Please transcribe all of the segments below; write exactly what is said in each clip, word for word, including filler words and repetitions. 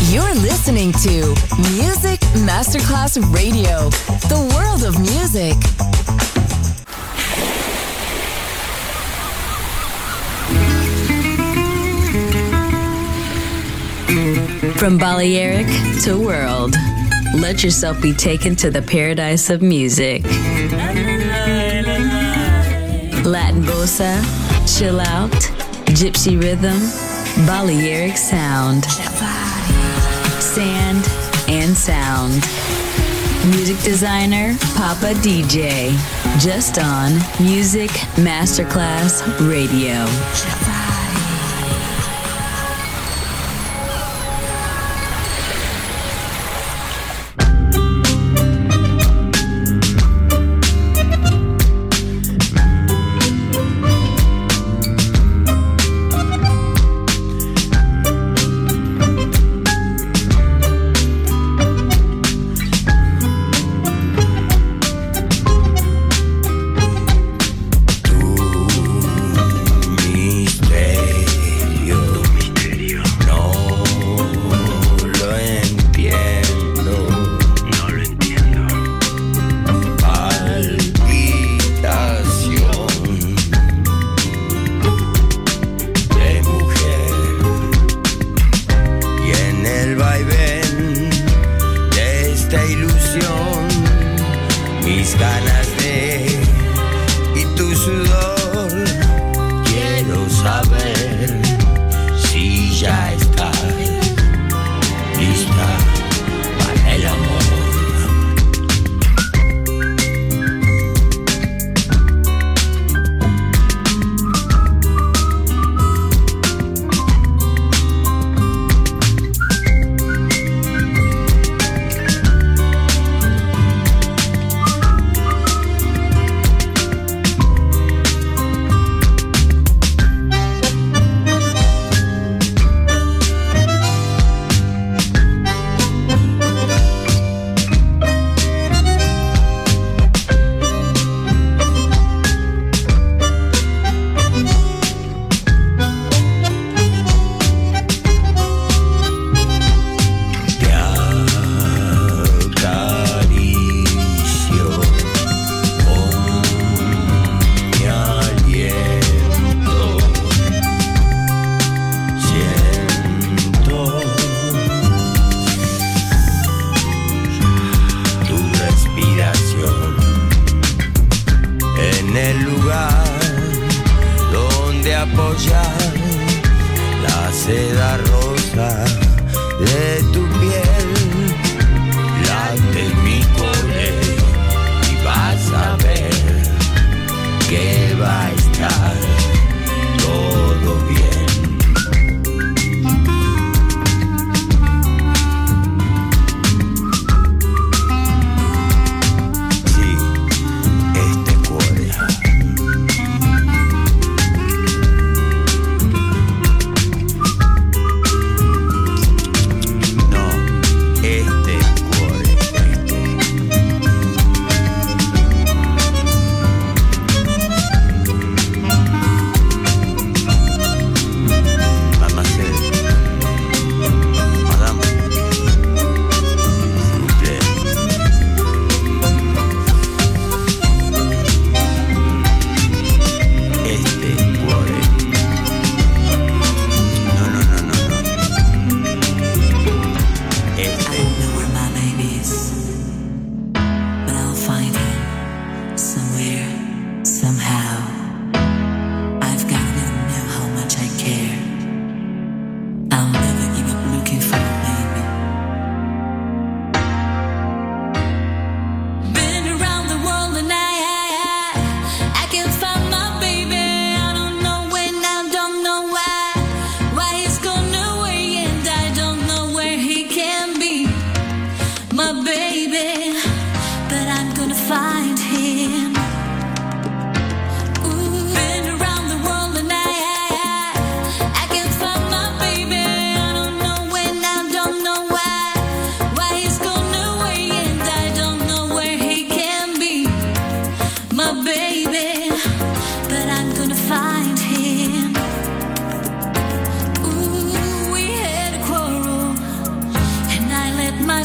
You're listening to Music Masterclass Radio, the world of music. From Balearic to world, let yourself be taken to the paradise of music. Latin bossa, chill out, gypsy rhythm, Balearic sound, sand and sound. Music designer, Papa D J, just on Music Masterclass Radio. Mis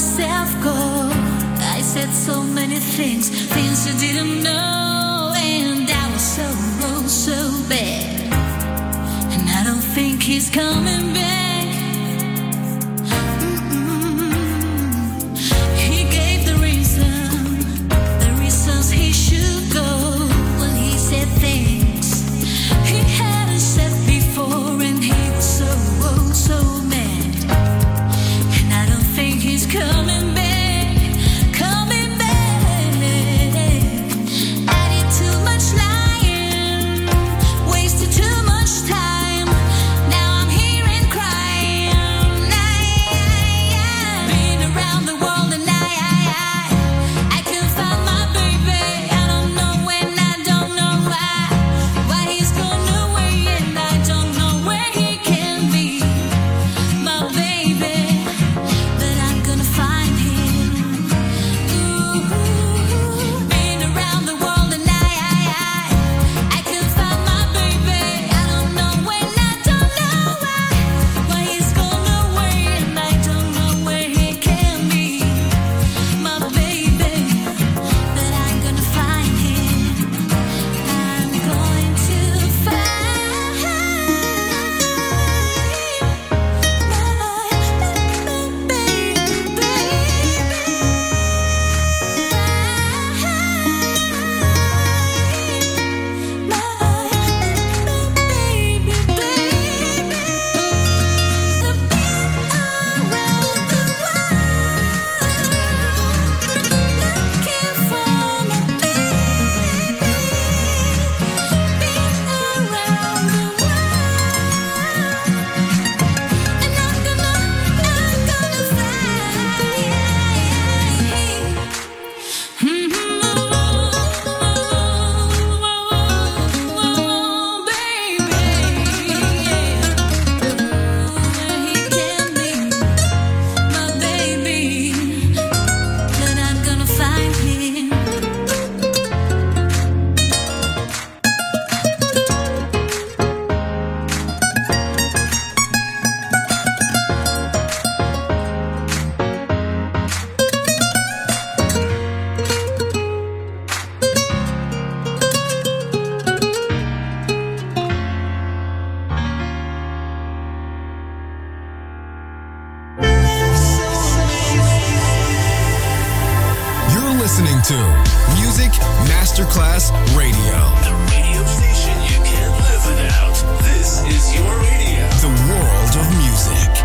myself go. I said so many things, things you didn't know, and I was so, oh, so bad. And I don't think he's coming back. Masterclass Radio. The radio station you can't live without. This is your radio. The world of music.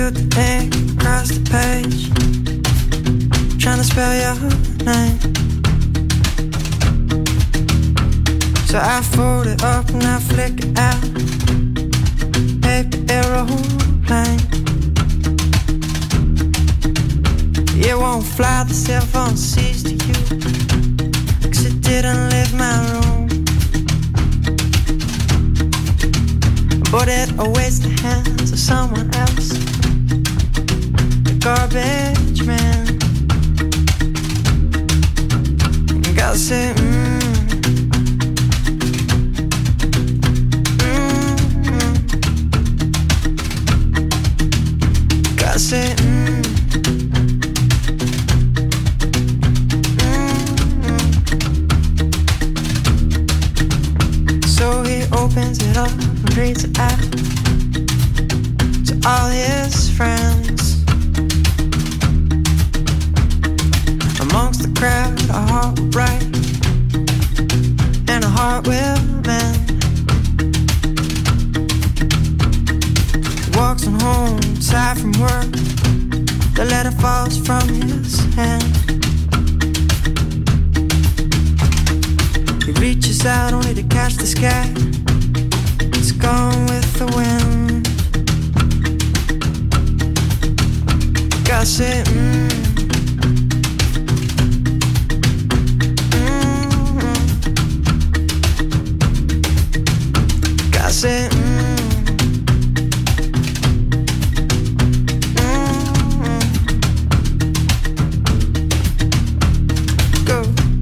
spilled the ink across the page, trying to spell your name. So I fold it up and I flick it out. Paper aeroplane. It won't fly, the cell phone sees to you, 'cause it didn't leave my room. But it awaits the hands of someone else, the garbage man. Gotta say, mmm, mmm, gotta say, mmm, mmm. So he opens it up and reads it out to all his friends. Amongst the crowd, a heart will break and a heart will mend. He walks on home, tired from work. The letter falls from his hand. He reaches out only to catch the sky. It's gone with the wind. Gotta say, mmm, I said, mm, mm, go.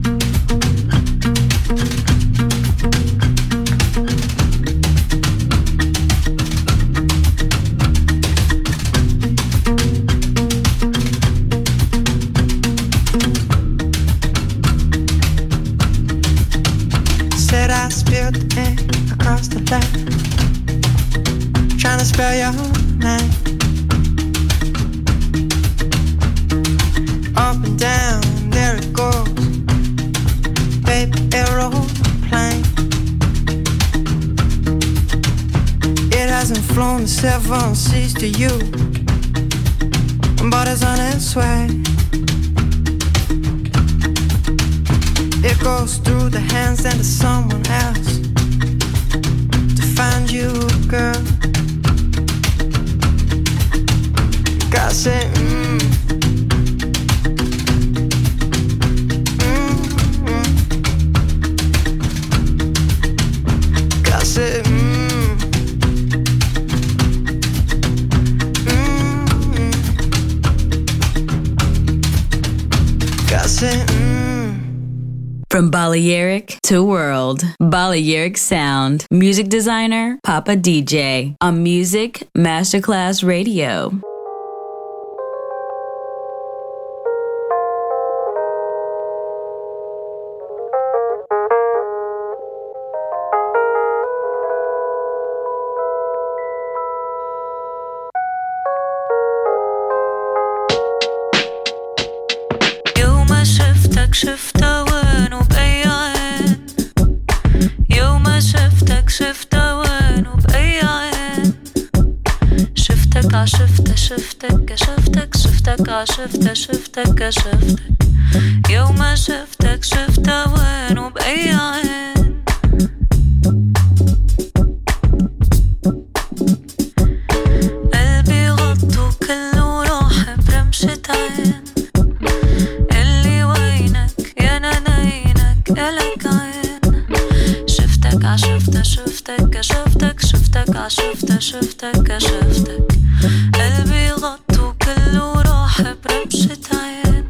Said I spilled the ink across the line, trying to spell your name. Up and down, there it goes, paper aeroplane. It hasn't flown the seven seas to you, but it's on its way. It goes through the hands and to someone else, find you, girl. Gotta say, mmm, mmm, mm. Gotta say, mmm, mmm, gotta say, mmm. From Balearic to World, Balearic Sound. Music designer, Papa D J. On Music Masterclass Radio. يوم شفتك شفتها وين وبأي عين، يوم شفتك شفتها وين وبأي عين، شفتك عشفتها شفتك كشفتك شفتك عشفتها شفتك كشفتك، يوم شفتك شفتها وين وبأي عين. قلبي غطو كله راح برمشة عين، اللي وينك يا ناينك إلك عين، شفتك عشفتها شفتك كشفتك شفتك عشفتها شفتك كشفتك، قلبي غطو كله راح برمشة عين.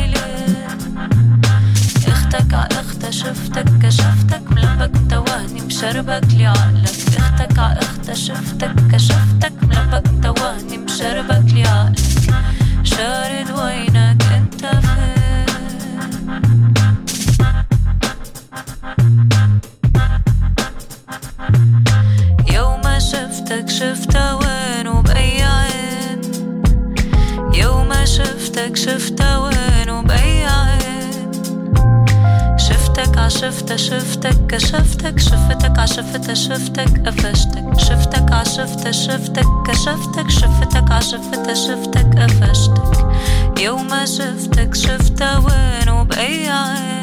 شفتك كشفتك ملبك تواني مش مشربك لعقلك اختك ع اختها شفتك كشفتك ملبك توهني مشربك لعقلك شارد وينك انت فين يوم شفتك شفتها وين وبأي عين يوم شفتك شفتها وين وبأي عين شفتك عشفتها شفتك كشفتك شفتك عشفتها شفتك قفشتك شفتك عشفتها شفتك كشفتك شفتك عشفتها شفتك قفشتك يوم شفتك شفتها وين وبأي عين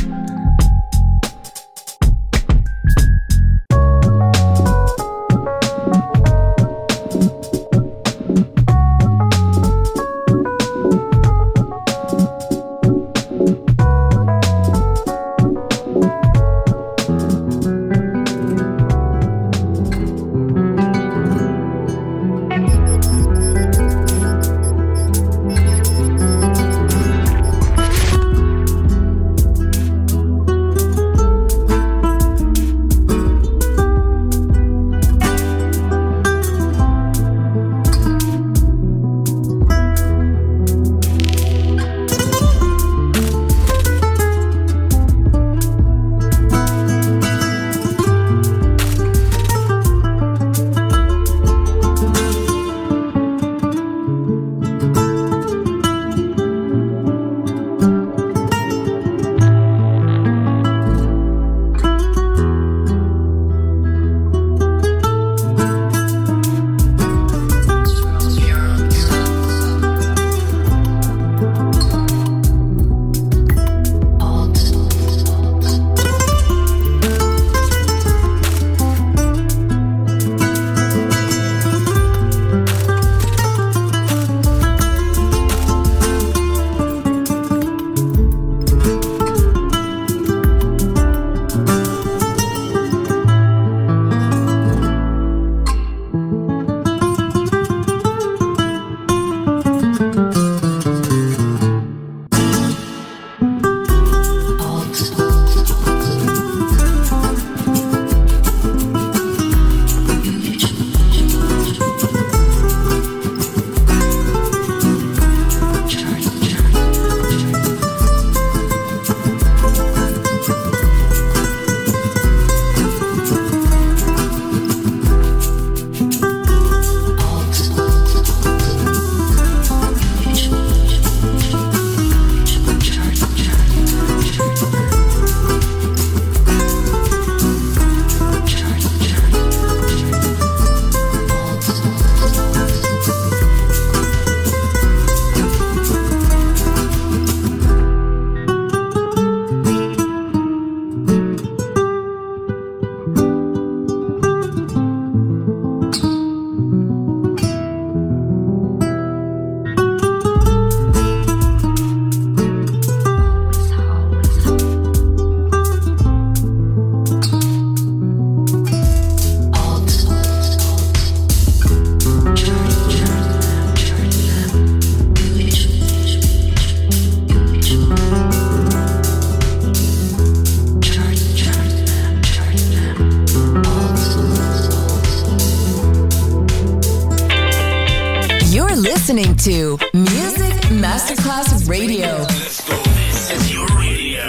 listening to Music Masterclass Radio. Let's go. This is your radio.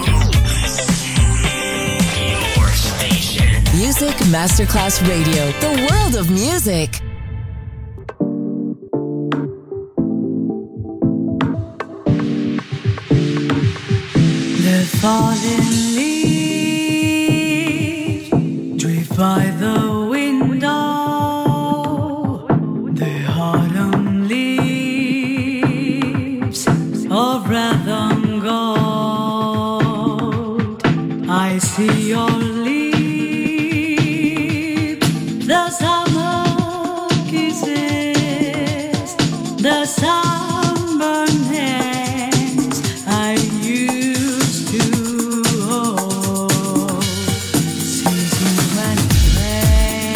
Your station. Music Masterclass Radio. The world of music. The fallen leaves drift by the window. The autumn leaves of red and gold. I see your lips, the summer kisses, the sunburned hands I used to hold. Seasons went away.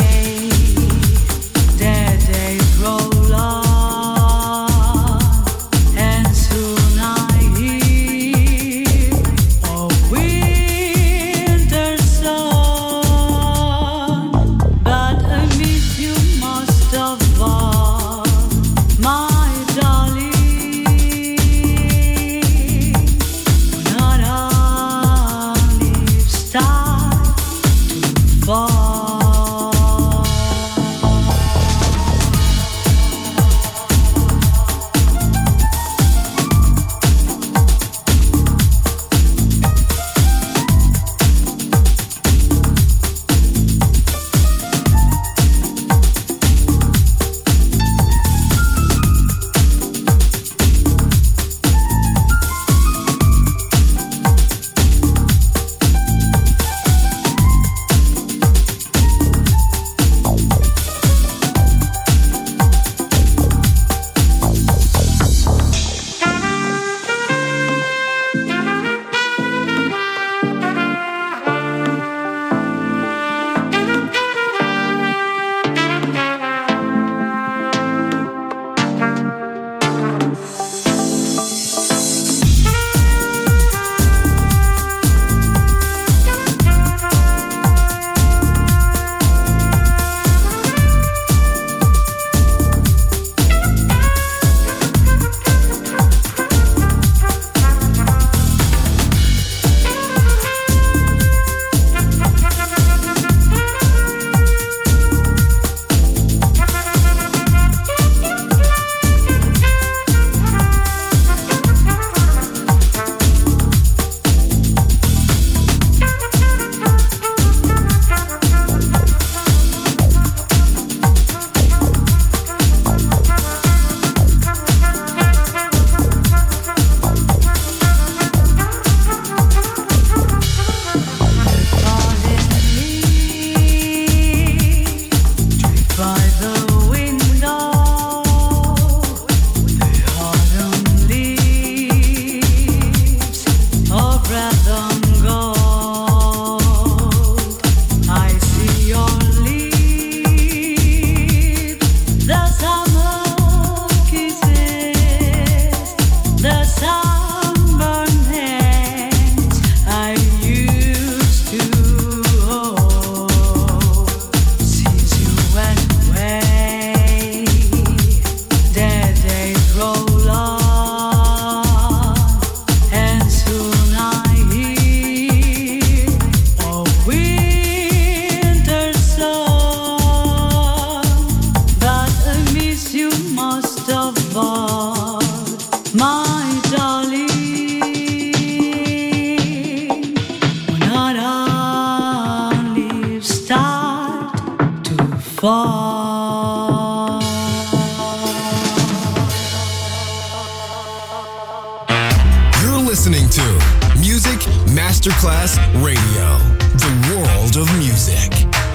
Masterclass Radio, the world of music.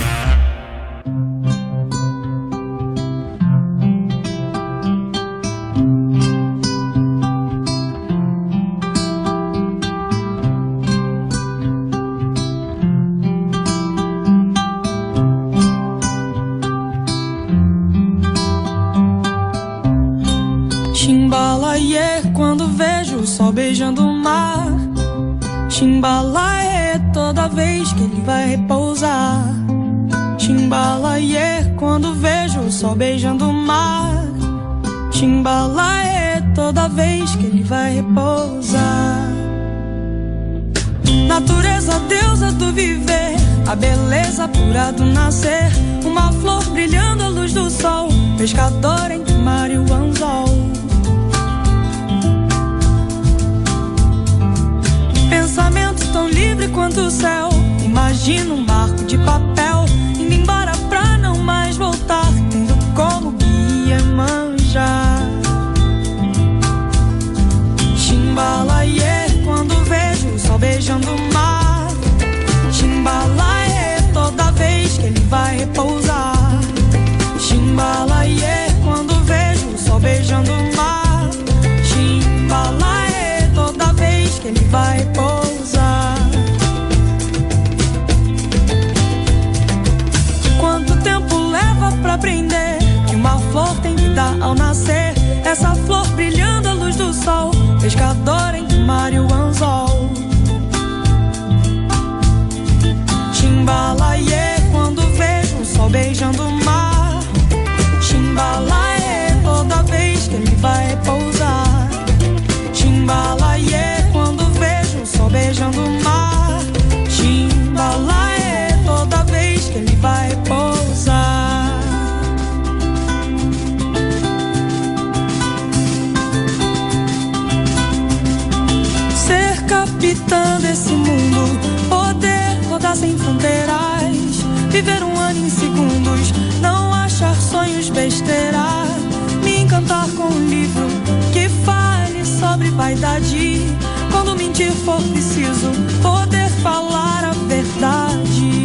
Chimbalaie, quando vejo o sol beijando o mar. Chimbalaie, toda vez que ele vai repousar. Chimbalaie, quando vejo o sol beijando o mar. Chimbalaie, toda vez que ele vai repousar. Natureza, deusa do viver, a beleza pura do nascer. Uma flor brilhando à luz do sol, pescador entre o mar e o anzol. Pensamento tão livre quanto o céu. Imagina um barco de papel indo embora pra não mais voltar, tendo como guia manjar. Chimbalaie, quando vejo o sol beijando o mar. Chimbalaie, toda vez que ele vai repousar. Chimbalaie, quando vejo o sol beijando o mar. Chimbalaie, toda vez que ele vai repousar. Quanto tempo leva pra aprender que uma flor tem vida ao nascer? Essa flor brilhando à luz do sol, pescador entre o mar e o anzol. Chimbalaie, quando vejo o sol beijando o mar. Chimbalaie, toda vez que ele vai repousar. Chimbalaie, quando vejo o sol beijando o mar. Chimbalaie, toda vez que ele vai repousar. Ser capitã desse mundo, poder rodar sem fronteiras, viver um ano em segundos, não achar sonhos besteira, me encantar com um livro que fale sobre vaidade. Quando mentir for preciso, poder falar a verdade.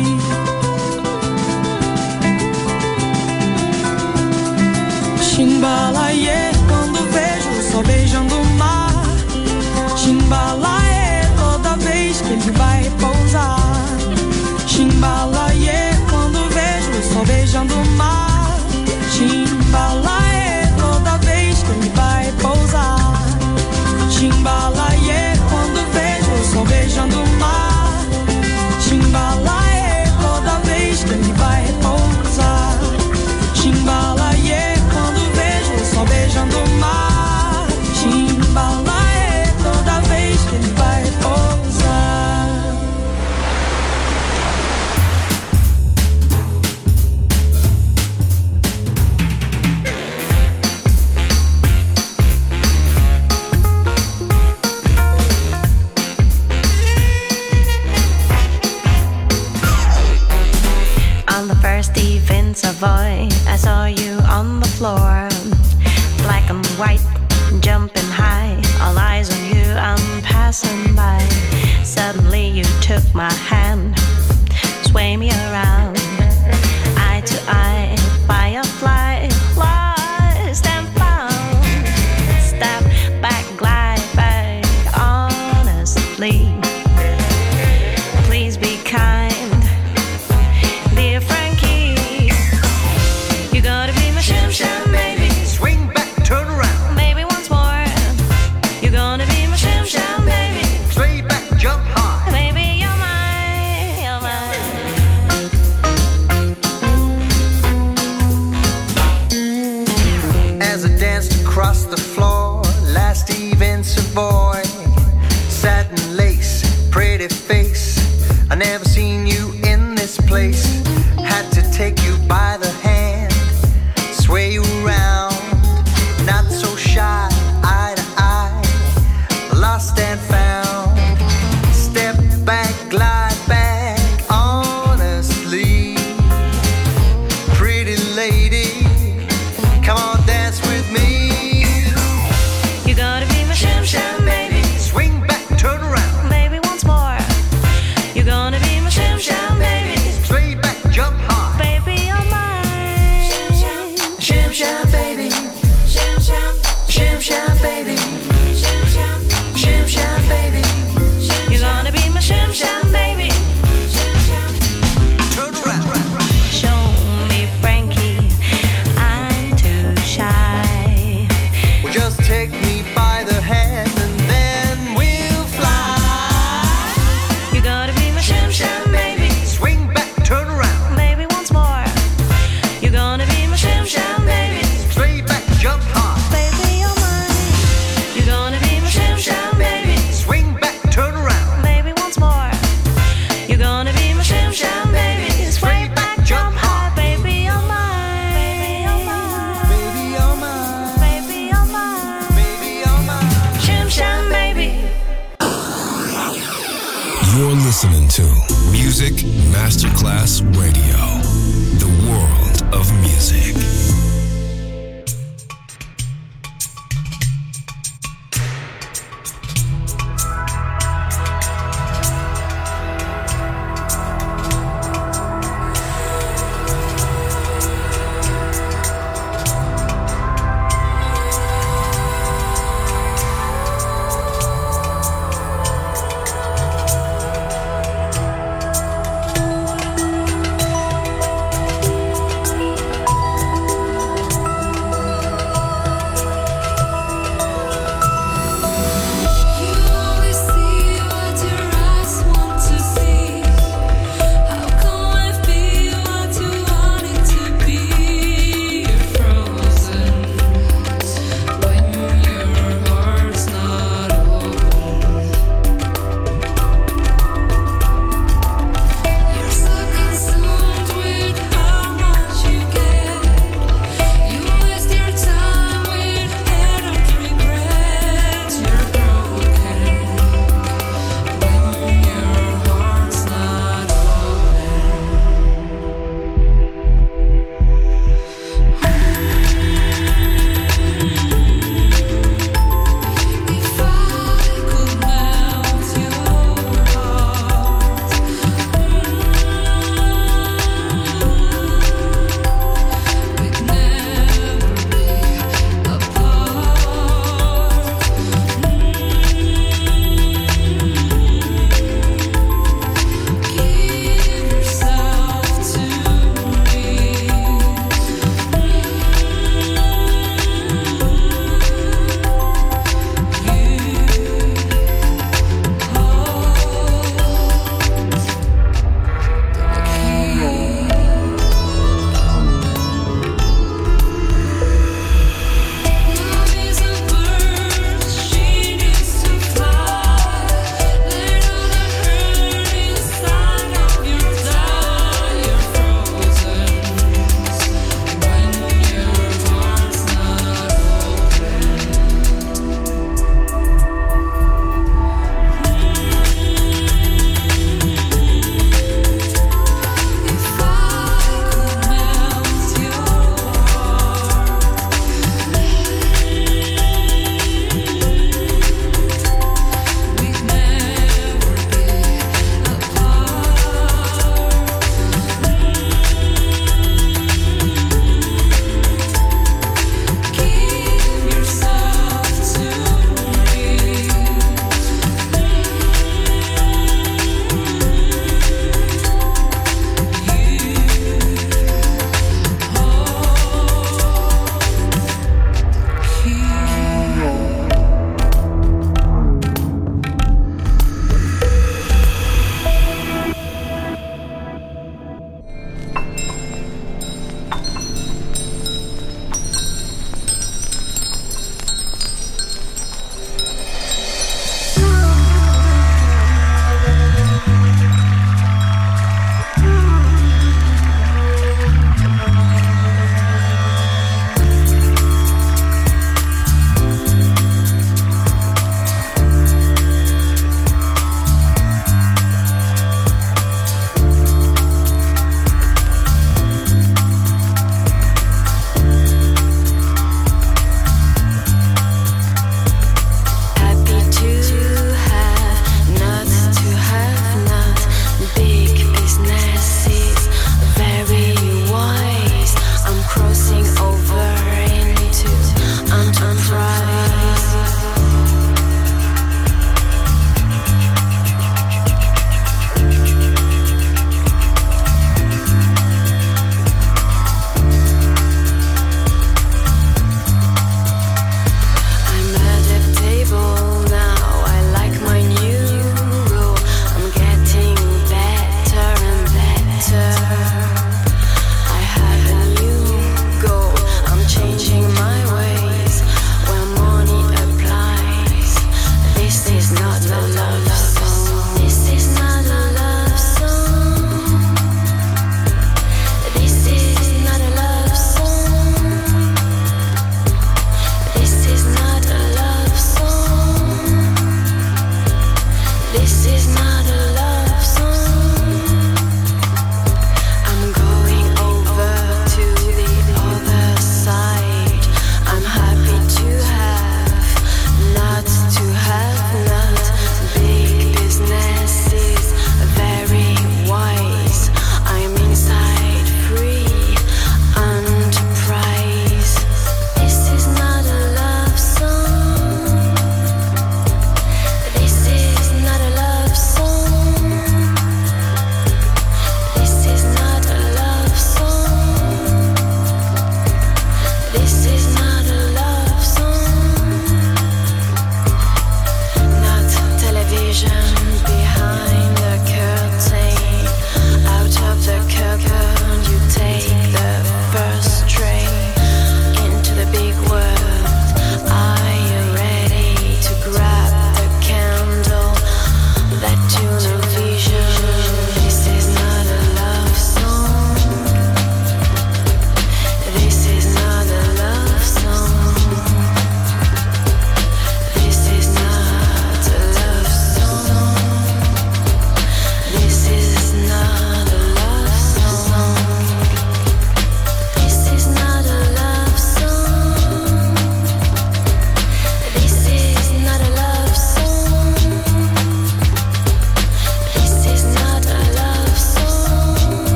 Chimbalaie, quando vejo o sol beijando o mar. Chimbalaie, toda vez que ele vai repousar. Chimbalaie, quando vejo o sol beijando o mar. Chimbalaie, toda vez que ele vai repousar. Chimbalaie, quando vejo o sol beijando o mar. Chimbalaie, toda vez que ele vai repousar. Chimbalaie, quando vejo o sol beijando o mar. Chimbalaie, toda vez que ele vai repousar. On the first evening Savoy, I saw you on the floor, black and white, jumping high, all eyes on you, I'm passing by. Suddenly you took my hand, sway me around, eye to eye, firefly, lost and found. Step back, glide back, honestly. Please be kind, dear friend. take you by the hand, sway you around, not so shy, eye to eye, lost and found. Step back, glide back, honestly. Pretty lady, come on, dance with me. You gotta be my shim sham baby. Swing back, turn around, baby, once more. You're gonna be my shim sham baby. sway back, jump high. Baby, you're mine. Shim sham baby, shim sham, shim sham baby, shim sham, shim sham baby. You're gonna be my shim sham baby. Turn around. Show me Frankie, I'm too shy. Well, just take me by the hand and then we'll fly. You gotta be my shim sham baby. Swing back, turn around, Baby, once more. You're gonna be my shim sham baby. sway back, jump high. Baby, you're mine. You're gonna be my shim sham baby. Swing back, turn around, Baby, once more. You're gonna be my shim sham baby. Sway back, jump high. Baby, you're mine. Baby, you're mine. baby, you're mine, Baby, you're mine. baby, you're mine. Shim sham baby. You're listening to Music Masterclass Radio, the world of music.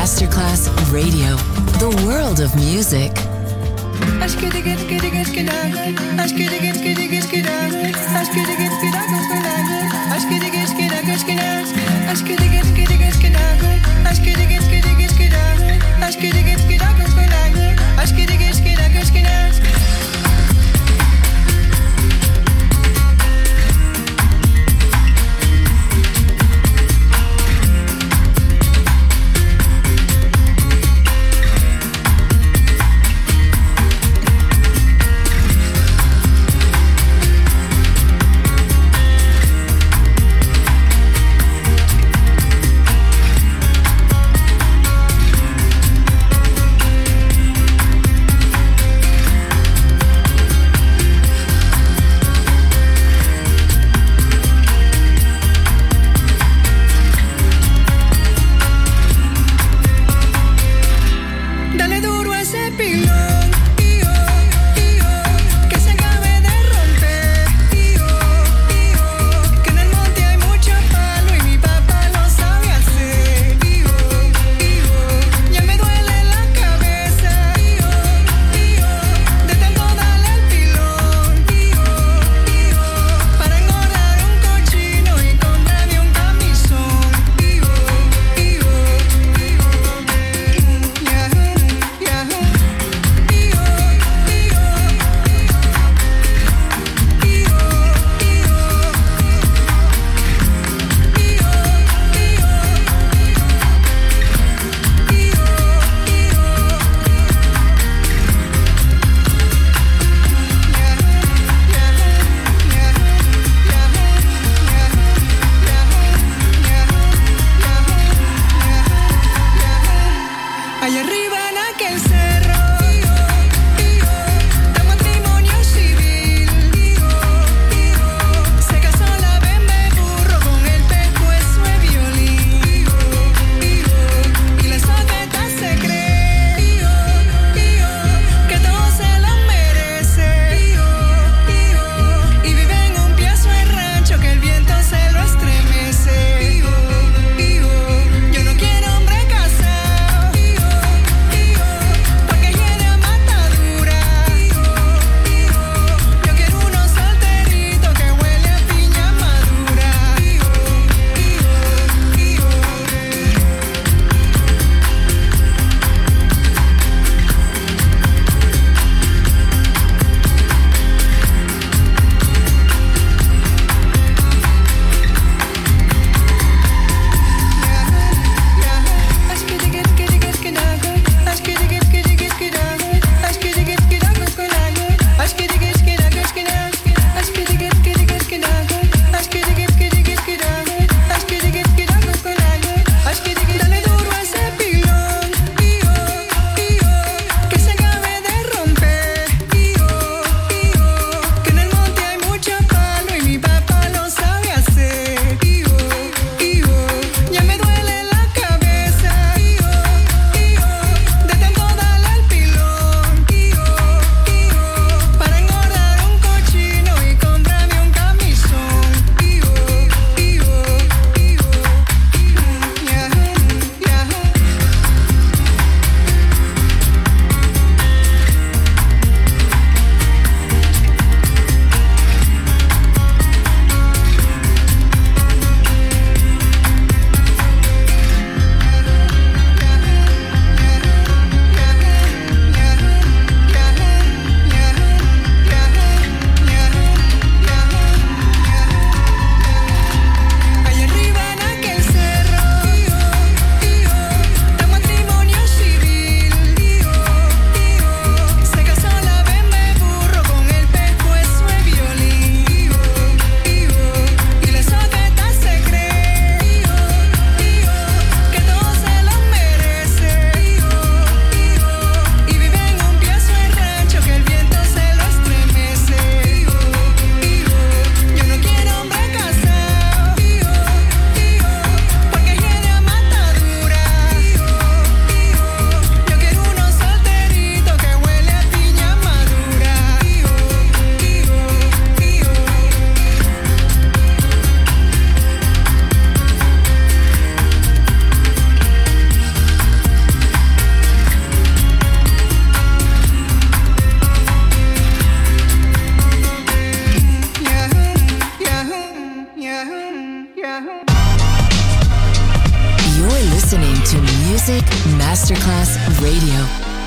Masterclass Radio, the world of music. Yo no quiero hombre casado. Masterclass Radio.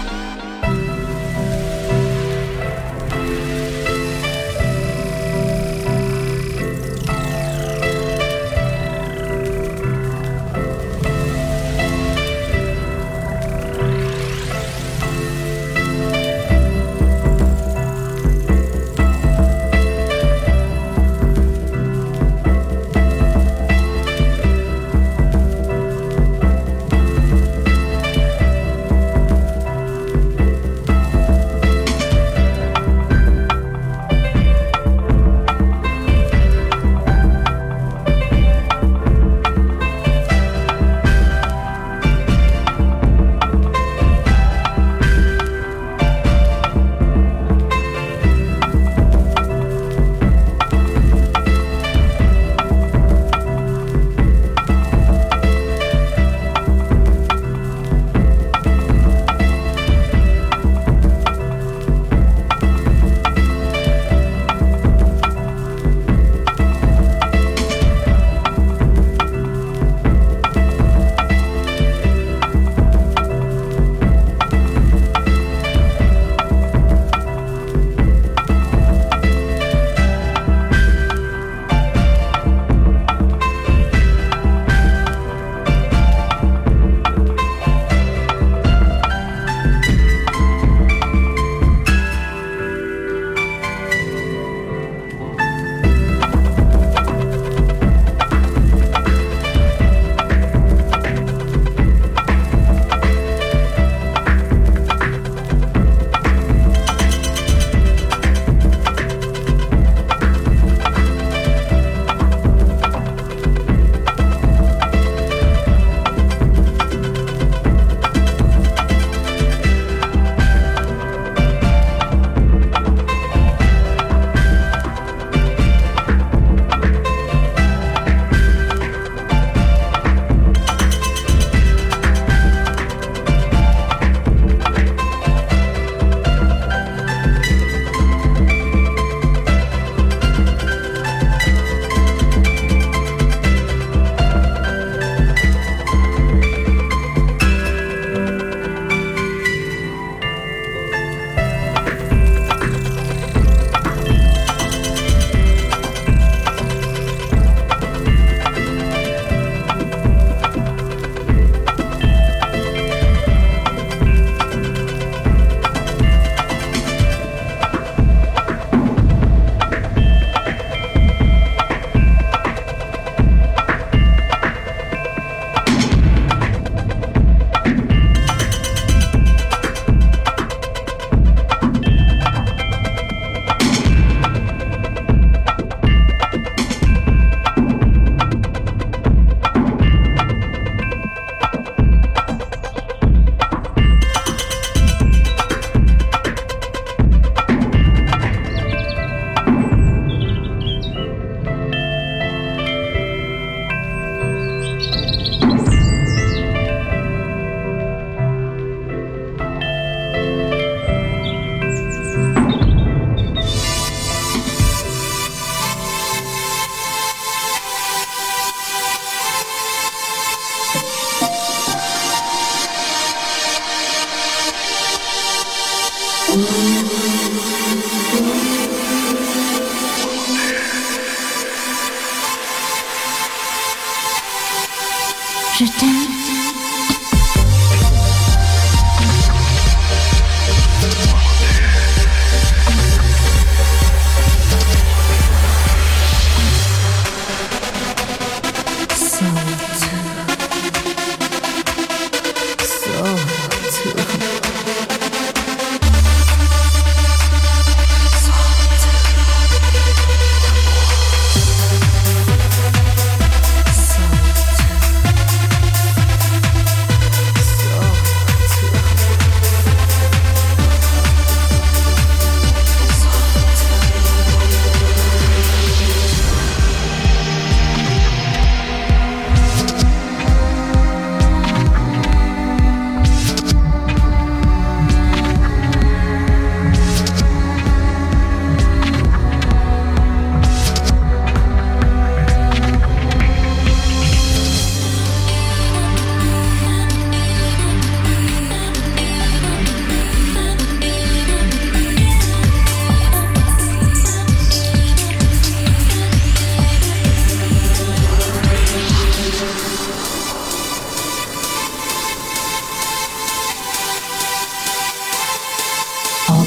Je t'aime.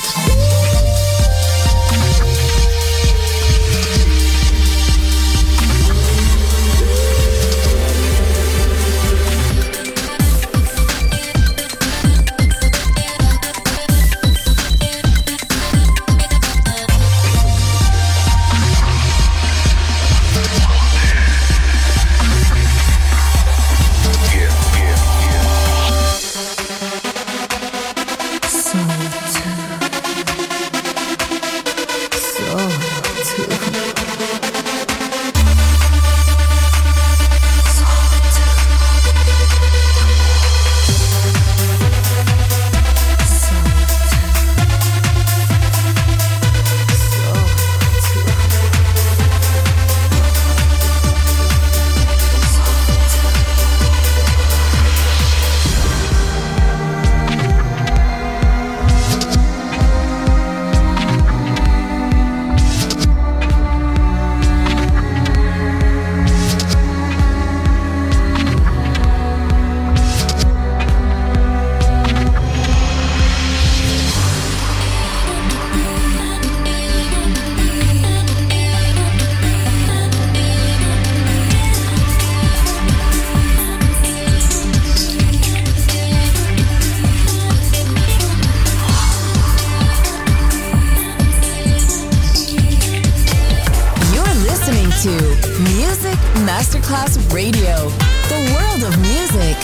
Masterclass Radio, the world of music.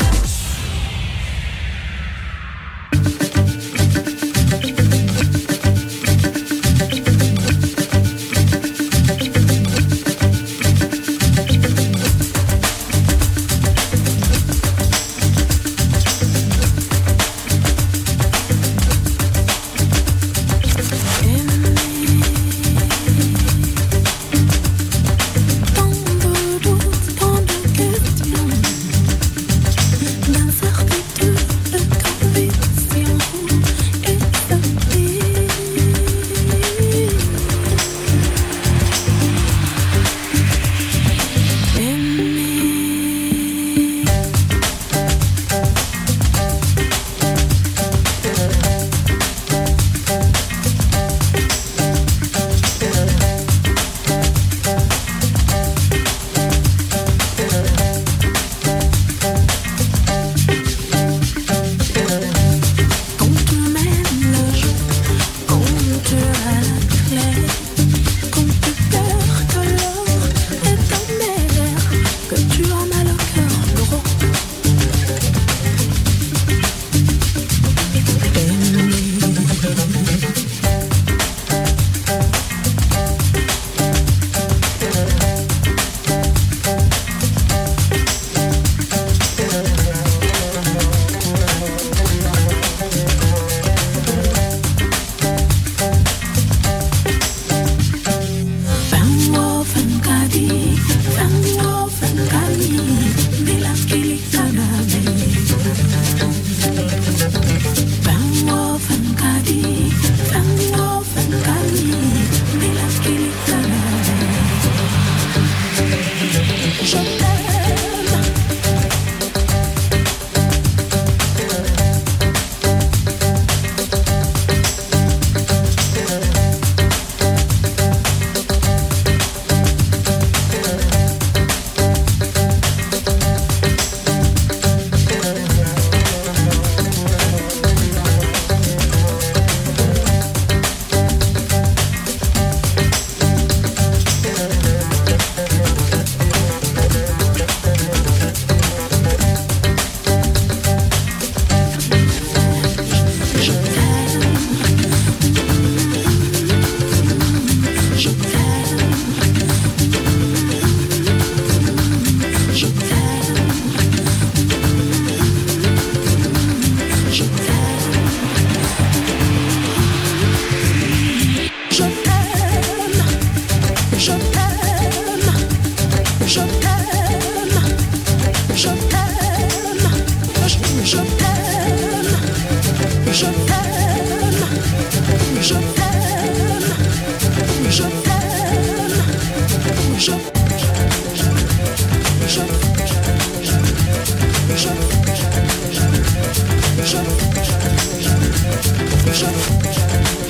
Je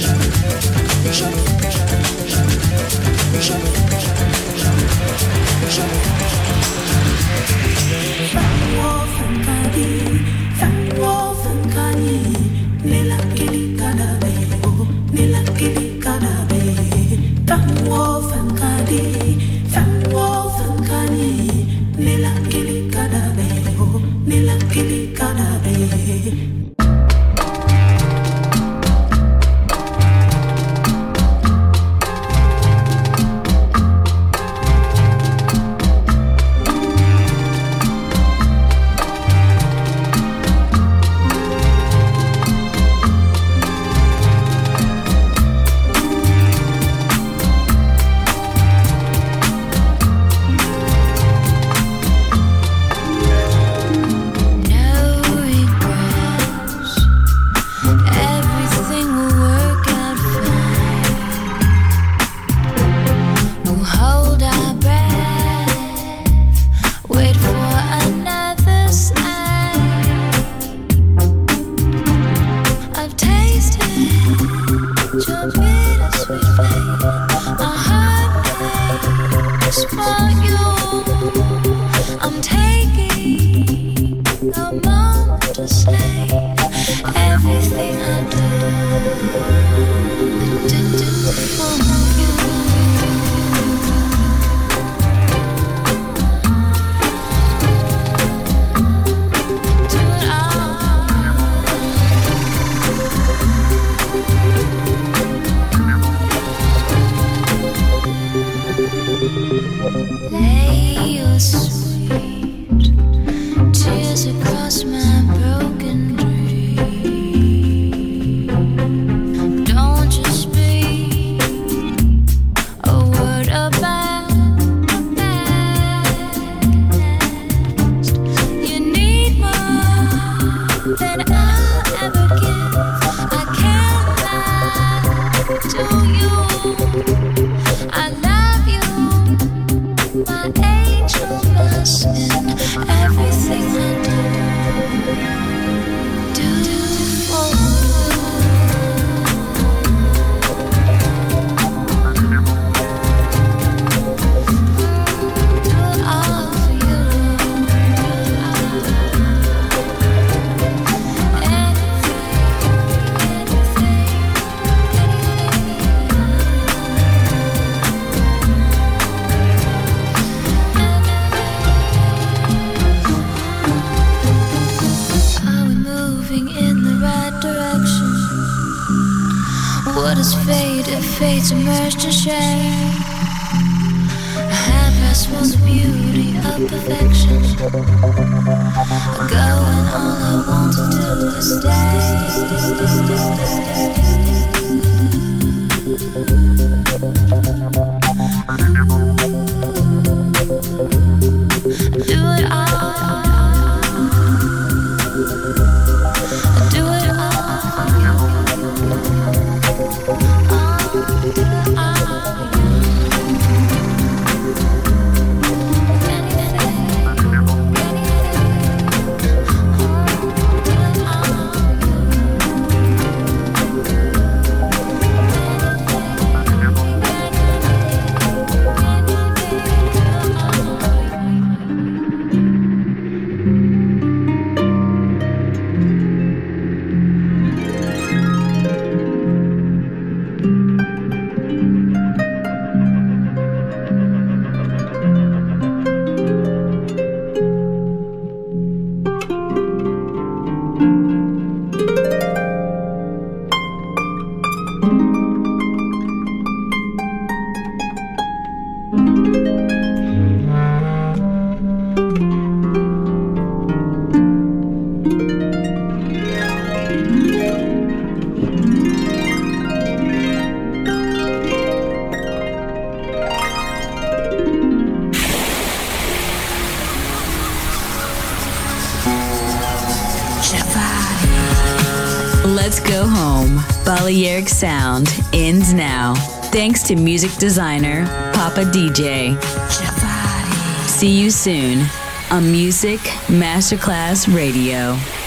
Let's go home. Balearic Sound ends now. Thanks to music designer Papa D J. See you soon on Music Masterclass Radio.